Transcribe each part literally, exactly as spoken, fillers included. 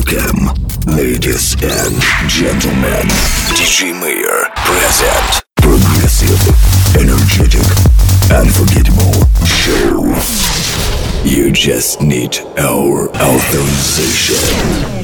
Welcome, ladies and gentlemen. ди джей Mayor present progressive, energetic, unforgettable show. You just need our authorization.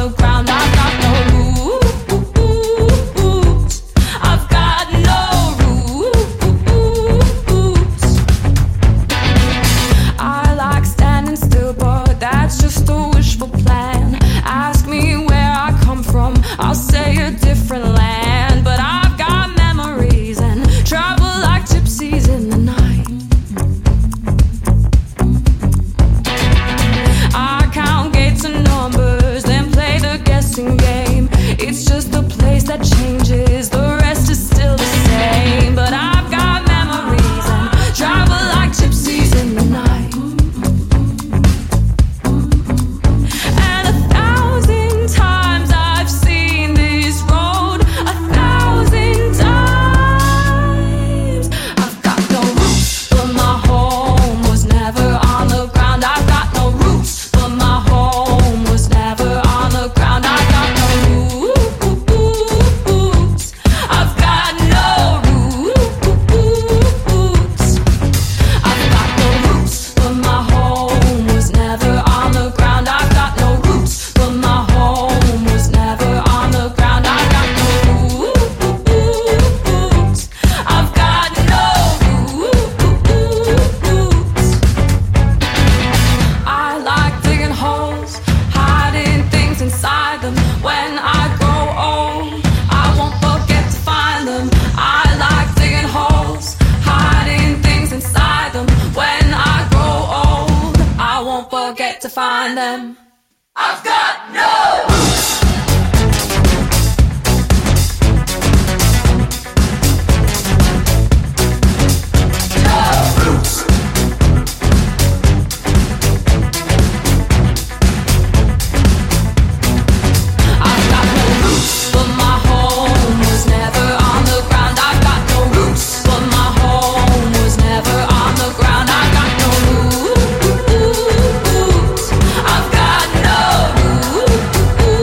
I've got no roots. won't forget to find them. I've got no roots. Ooh,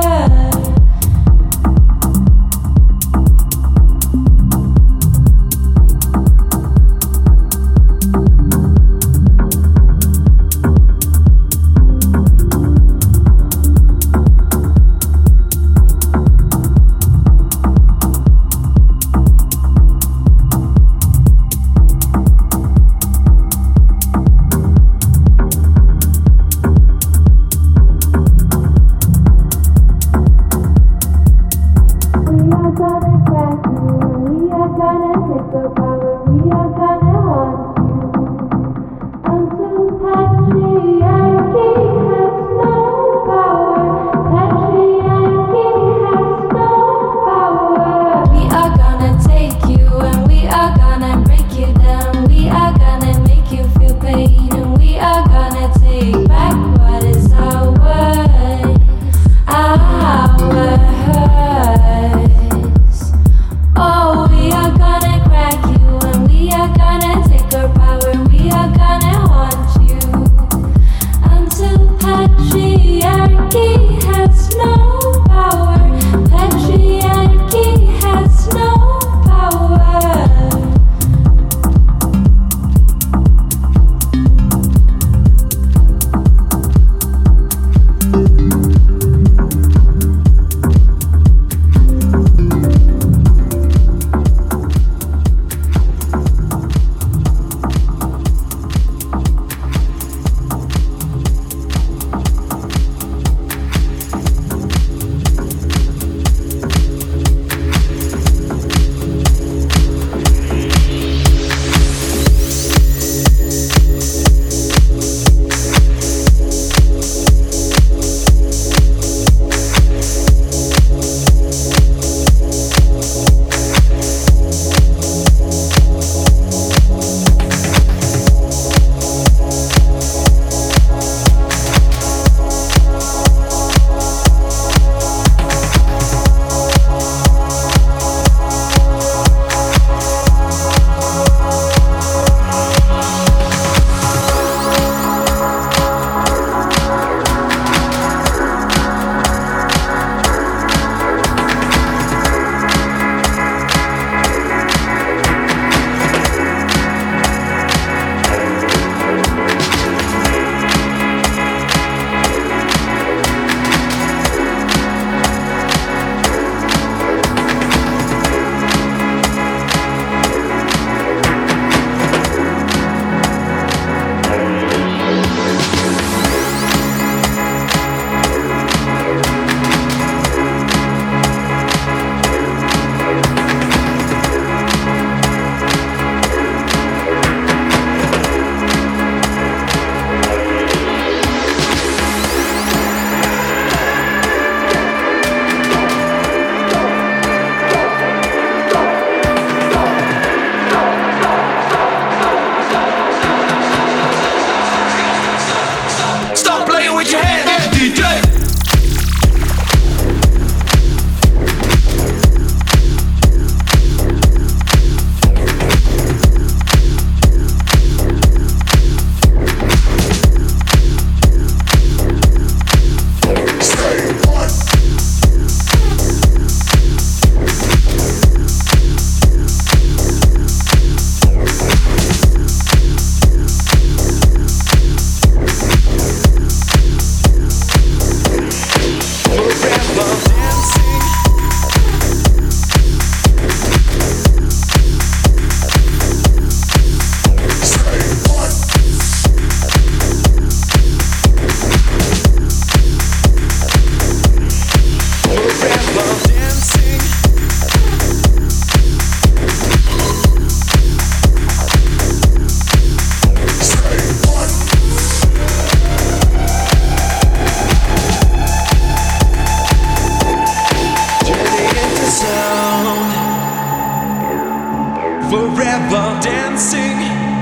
forever dancing,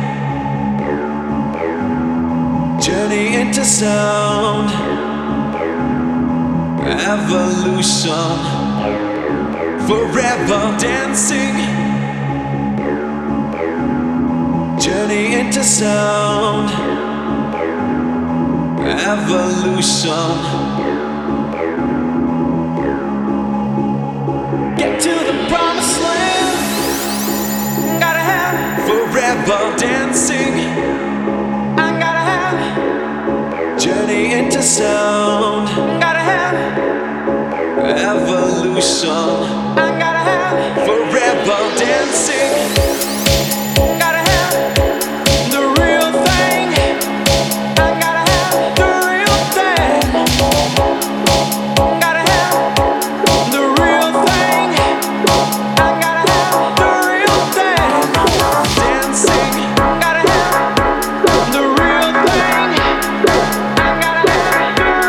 journey into sound, evolution, forever dancing, journey into sound, evolution. forever dancing. I gotta have journey into sound. Gotta have evolution. I gotta have forever dancing. Gotta have the real thing. I gotta have the real thing. Gotta have the real thing. I gotta have the real thing. Dancing. Gotta have the real thing. I gotta have the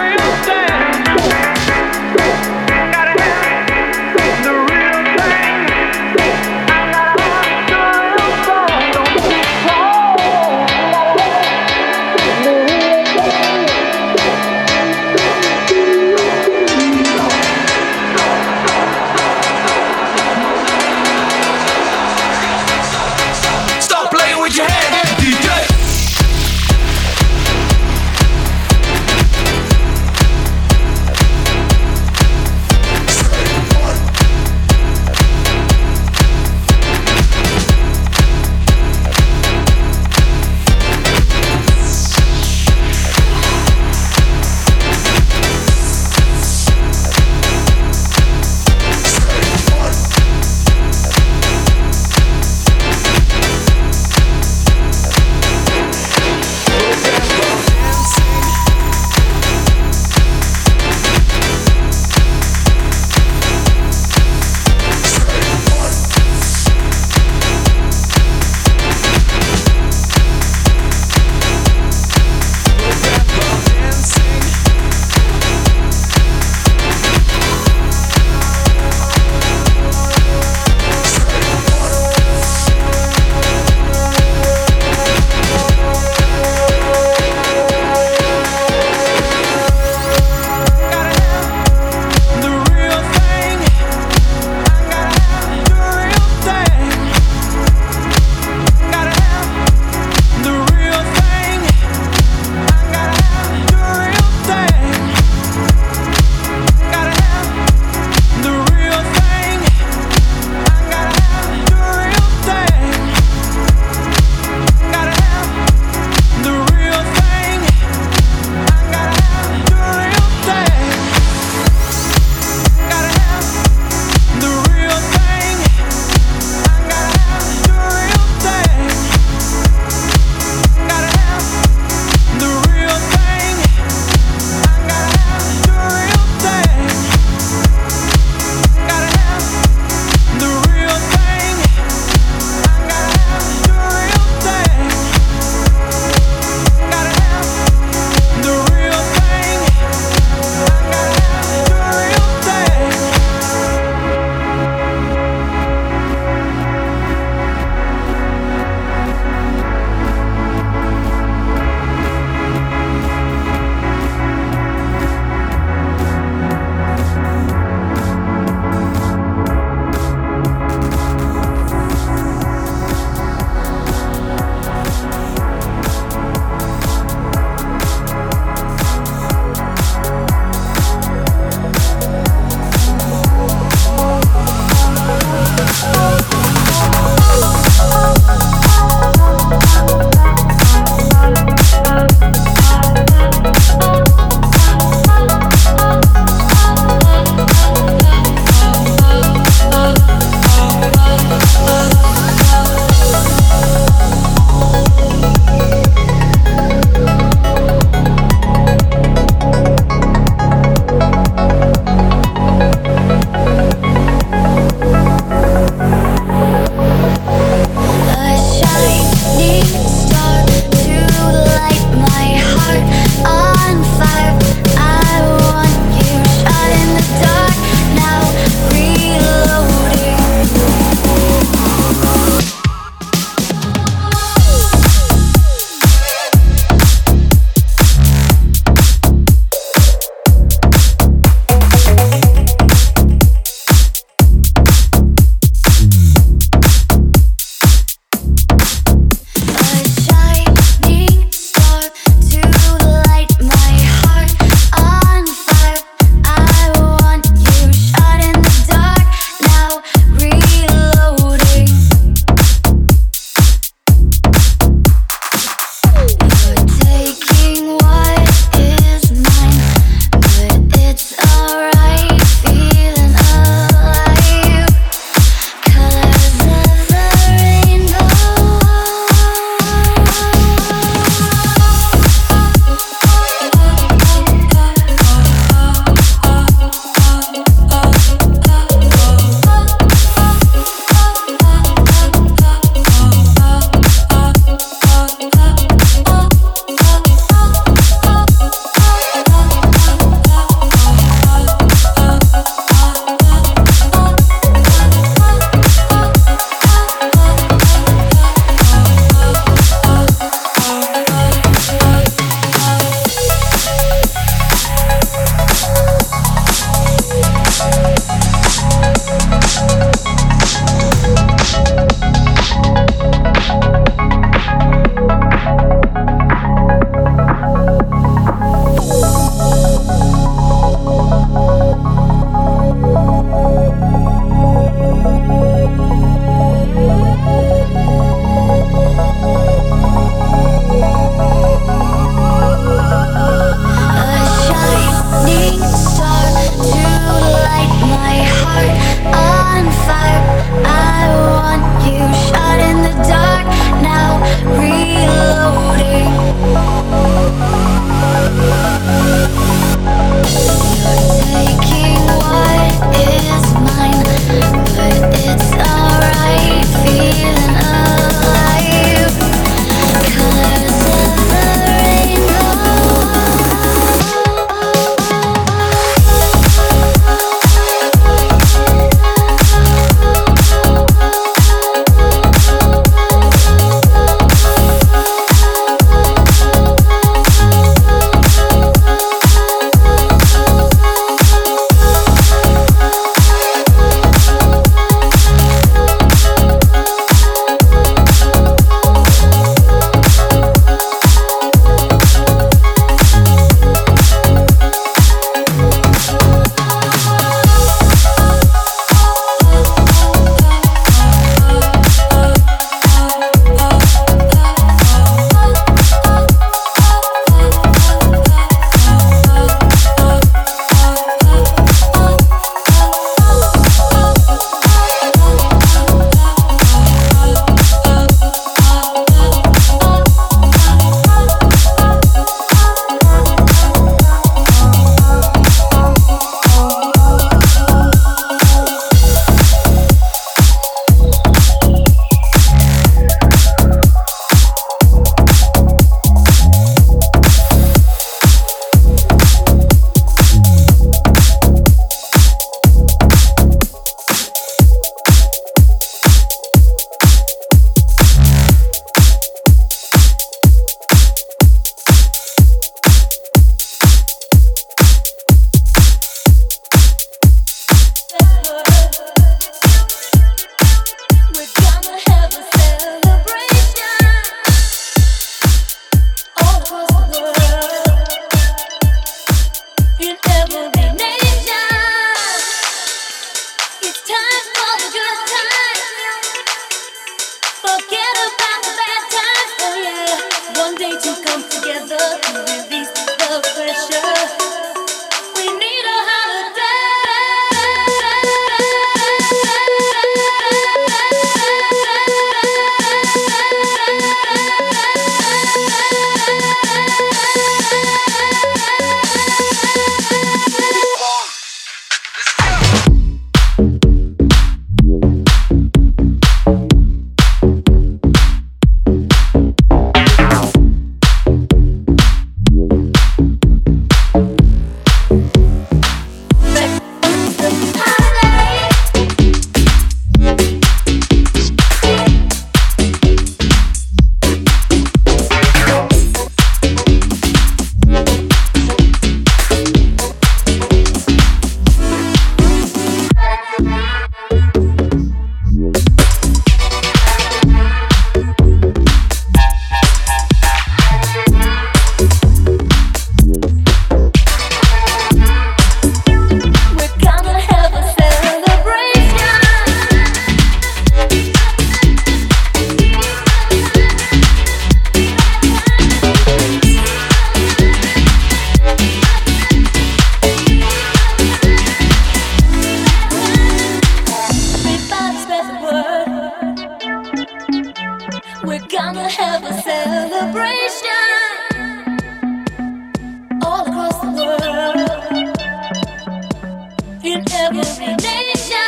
in every nation.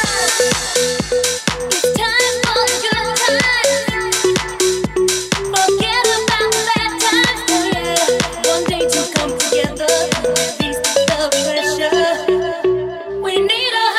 It's time for the good times. Forget about the bad times. Oh yeah, one day to come together, release the pressure. We need a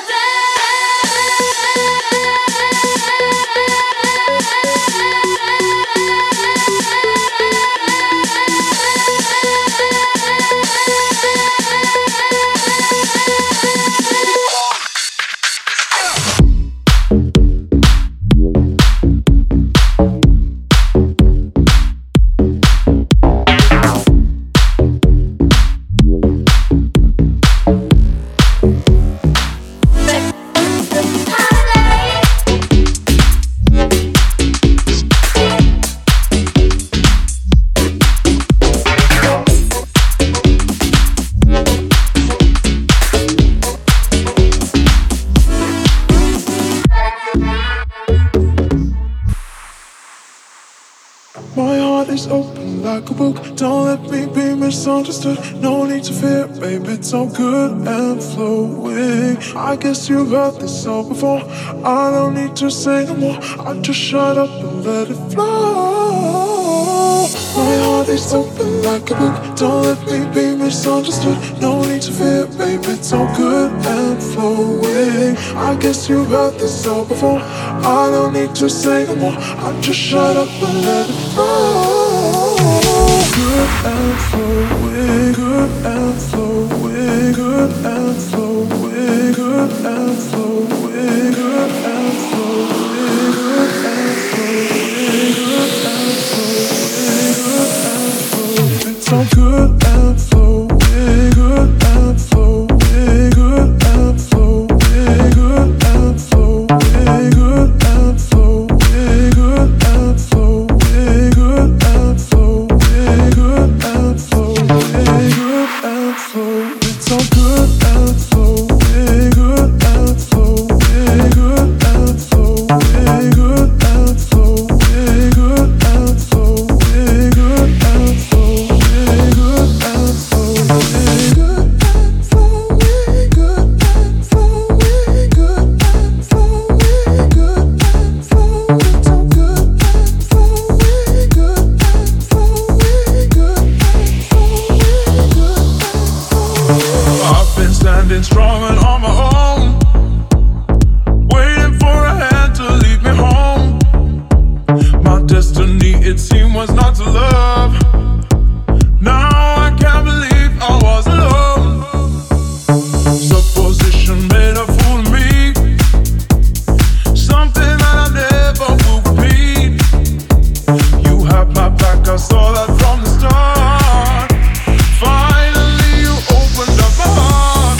like a book, don't let me be misunderstood. No need to fear, babe, it's all good and flowing. I guess you've heard this all before. I don't need to say no more. I just shut up and let it flow. My heart is open like a book, don't let me be misunderstood. No need to fear, babe, it's all good and flowing. I guess you've heard this all before. I don't need to say no more. I just shut up and let it flow. Good and flowing, good and flowing, good and flowing, good and flowing, good and flowing, good and flowing, good and flowing, good and flowing. It's all good and flowing, good and flowing, good and flowing, good and flowing, good and flowing, good and flowing, good and flowing. Good and flow, good and flow. It's all good and flow, good and flow, good and flow, good and flow, good and flow, good and flow, good and flow, good and flow, good and flow, good and flow, good and flow. It's all good and flow, good and flow. I've been standing strong and on my own, waiting for a hand to lead me home. My destiny, it seemed, was not to love. Now I can't believe I was alone. Supposition made a fool of me, something that I never will repeat. You had my back, I saw that from the start. Finally you opened up my heart.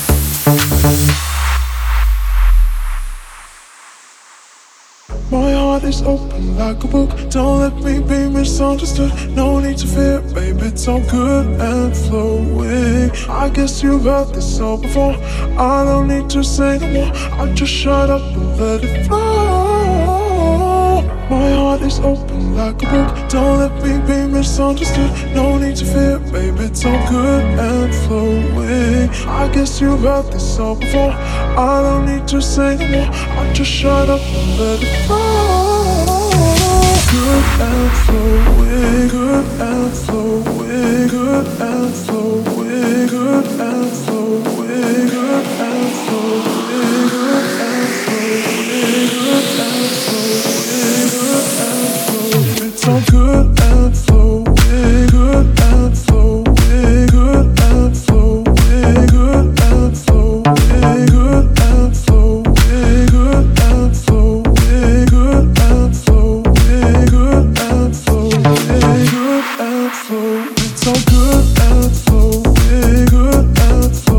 My heart is open like a book, don't let me be misunderstood. No need to fear, babe, it's all good and flowing. I guess you've heard this all before. I don't need to say no more. I just shut up and let it flow. My heart is open like a book, don't let me be misunderstood. No need to fear, babe, it's all good and flowing. I guess you've heard this all before. I don't need to say no more. I just shut up and let it flow. Good and flowing, good and flowing, good and flowing, good and flowing, good and flowing, good and flowing, good and flowing, good and flowing. It's all good and flowing, good and flowing, good and flowing, good and flowing, good and flowing, good and flowing, good and flowing, good and flowing, good and flowing. It's all good and flowing, good and flowing.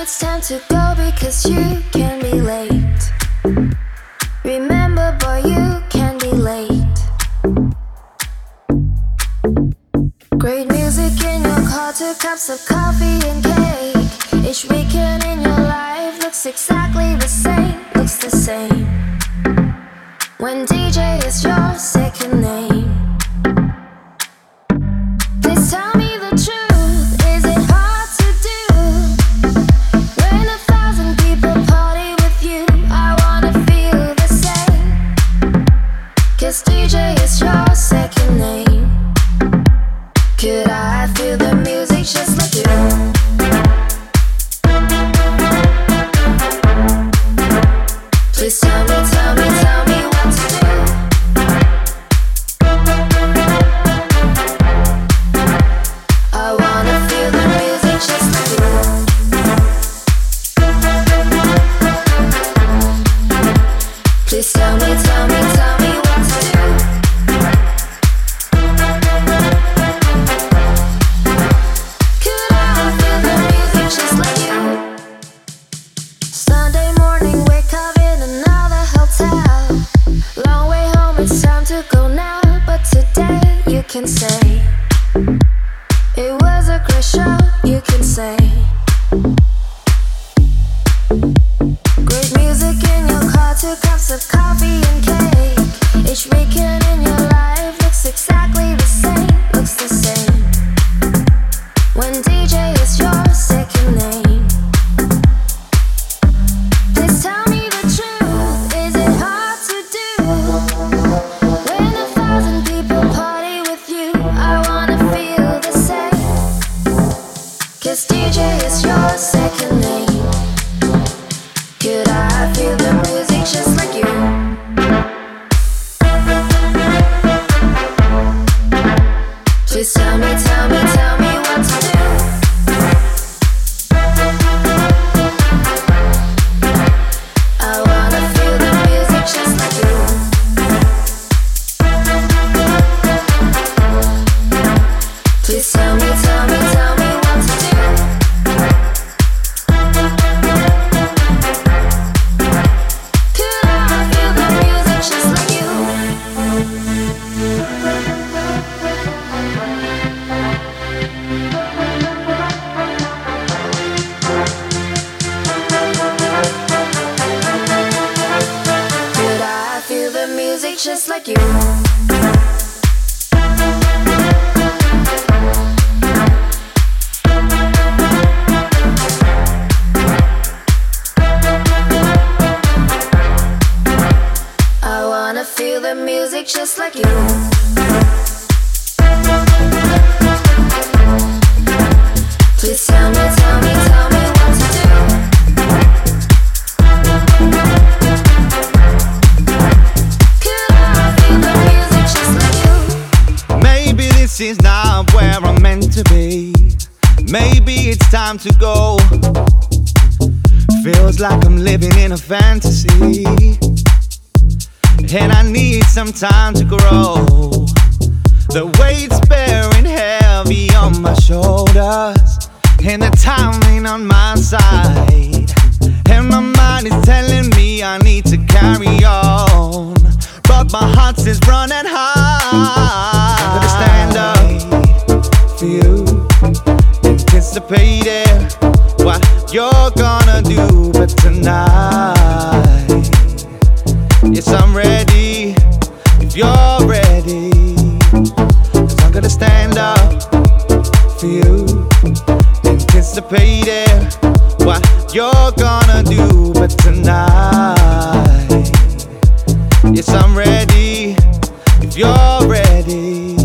it's time to go because you can be late. Remember, boy, you can be late. Great music in your car, two cups of coffee and cake. Each weekend in your life looks exactly the same, looks the same. When D J is your second name. Please tell me the truth, is it hard to do? When a thousand people party with you, I wanna feel the same. 'Cause D J is your second name. Could I feel the music just like you? Please tell me, tell me, tell me what to do. I wanna feel the music just like you. Please tell me, tell me, tell me what to do. Could I feel the music just like you? Sunday morning, wake up in another hotel. Long way home, it's time to go now. But today you can say it was a great show, you can say. Great music in your car, two cups of coffee and cake. Each weekend in your life looks exactly the same, looks the same. When D J is your second name. Please tell me the truth, is it hard to do? When a thousand people party with you, I wanna feel the same. 'Cause D J is your second name. Could I feel the music just like you? Please tell me, tell me, tell me what to do. I wanna feel the music just like you. Please tell me, tell me, tell me what to do. Could I feel the music just like you? Could I feel the music just like you? I wanna feel the music just like you. Please tell me, tell me, tell me what to do. Could I feel the music just like you? Maybe this is not where I'm meant to be. Maybe it's time to go. Feels like I'm living in a fantasy, and I need some time to grow. The weight's bearing heavy on my shoulders, and the time ain't on my side. And my mind is telling me I need to carry on, but my heart is running high. I'm gonna stand up for you, anticipating what you're gonna do. But tonight, yes, I'm ready, if you're ready. 'Cause I'm gonna stand up for you, anticipating what you're gonna do. But tonight, yes, I'm ready, if you're ready.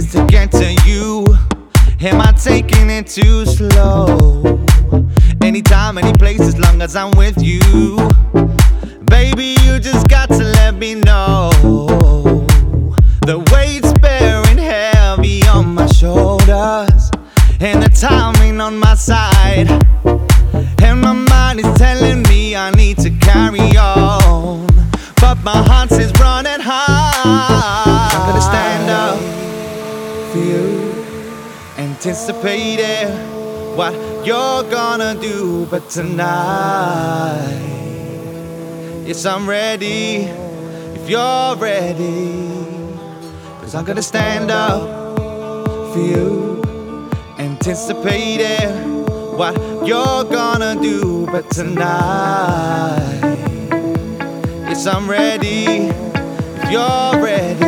is to get to you. Am I taking it too slow? Anytime, any place, as long as I'm with you. Baby, you just got to let me know. The weight's bearing heavy on my shoulders, and the timing on my side. And my mind is telling me I need to carry on, but my heart is running high. I'm gonna stand up for you, anticipating what you're gonna do. But tonight, yes, I'm ready, if you're ready. Cause I'm gonna stand up for you, anticipating what you're gonna do. But tonight, yes, I'm ready, if you're ready.